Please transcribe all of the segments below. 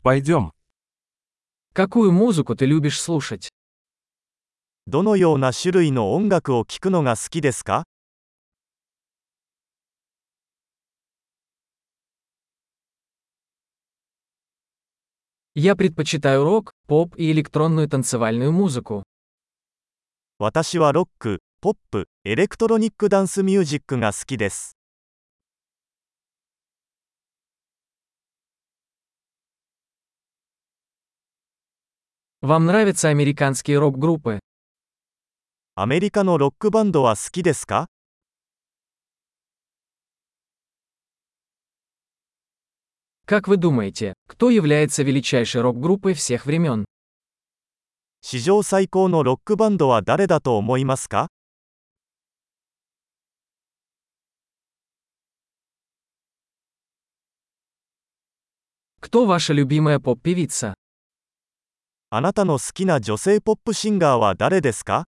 Пойдем. Какую музыку ты любишь слушать? どのような種類の音楽を聴くのが好きですか？ Я предпочитаю рок, поп и электронную танцевальную музыку. 私はロック、ポップ、エレクトロニックダンスミュージックが好きです。 Вам нравятся американские рок-группы? アメリカのロックバンドは好きですか？ Как вы думаете, кто является величайшей рок-группой всех времен? 史上最高のロックバンドは誰だと思いますか？ Кто ваша любимая поп-певица? あなたの好きな女性ポップシンガーは誰ですか？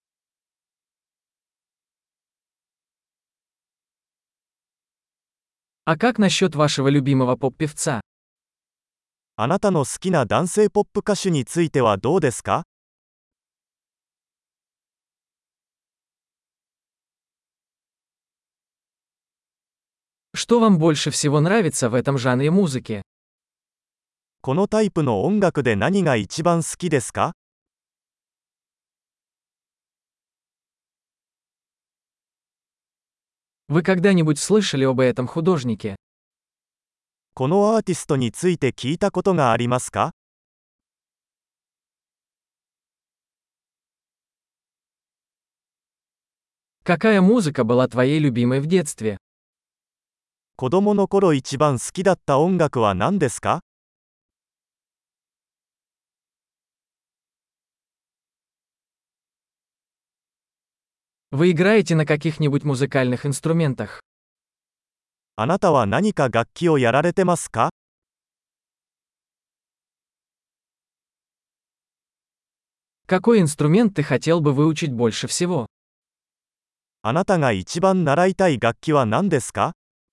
А как насчет вашего любимого поп-певца? あなたの好きな男性ポップ歌手についてはどうですか？ Что вам больше всего нравится в этом жанре музыки? このタイプの音楽で何が一番好きですか？ Вы когда-нибудь слышали об этом художнике? このアーティストについて聞いたことがありますか？ Какая музыка была твоей любимой в детстве? 子供の頃一番好きだった音楽は何ですか？ Вы играете на каких-нибудь музыкальных инструментах? あなたは何か楽器をやられてますか？ Какой инструмент ты хотел бы выучить больше всего? あなたが一番習いたい楽器は何ですか？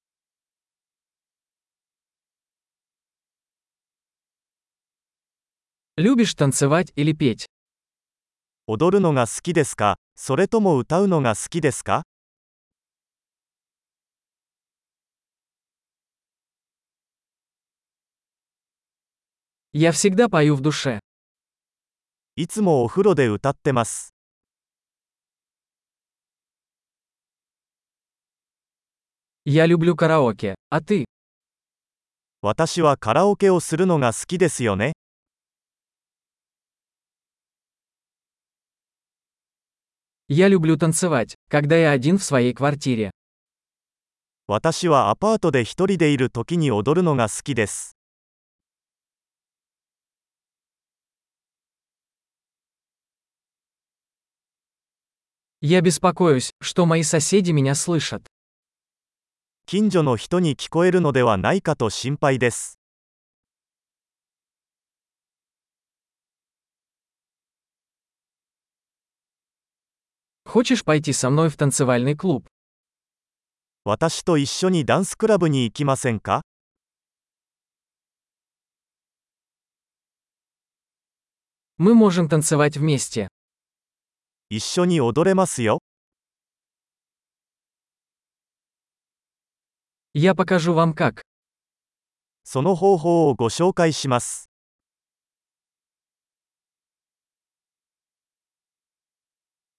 Любишь танцевать или петь? 踊るのが好きですか？それとも歌うのが好きですか？ Я всегда пою в душе. いつもお風呂で歌ってます。 Я люблю караоке, а ты? 私はカラオケをするのが好きですよね。 Я люблю танцевать, когда я один в своей квартире. 私はアパートで一人でいる時に踊るのが好きです。 Я беспокоюсь, что мои соседи меня слышат. 近所の人に聞こえるのではないかと心配です。 Хочешь пойти со мной в танцевальный клуб? 私と一緒にダンスクラブに行きませんか？ Мы можем танцевать вместе. 一緒に踊れますよ。 Я покажу вам как. その方法をご紹介します。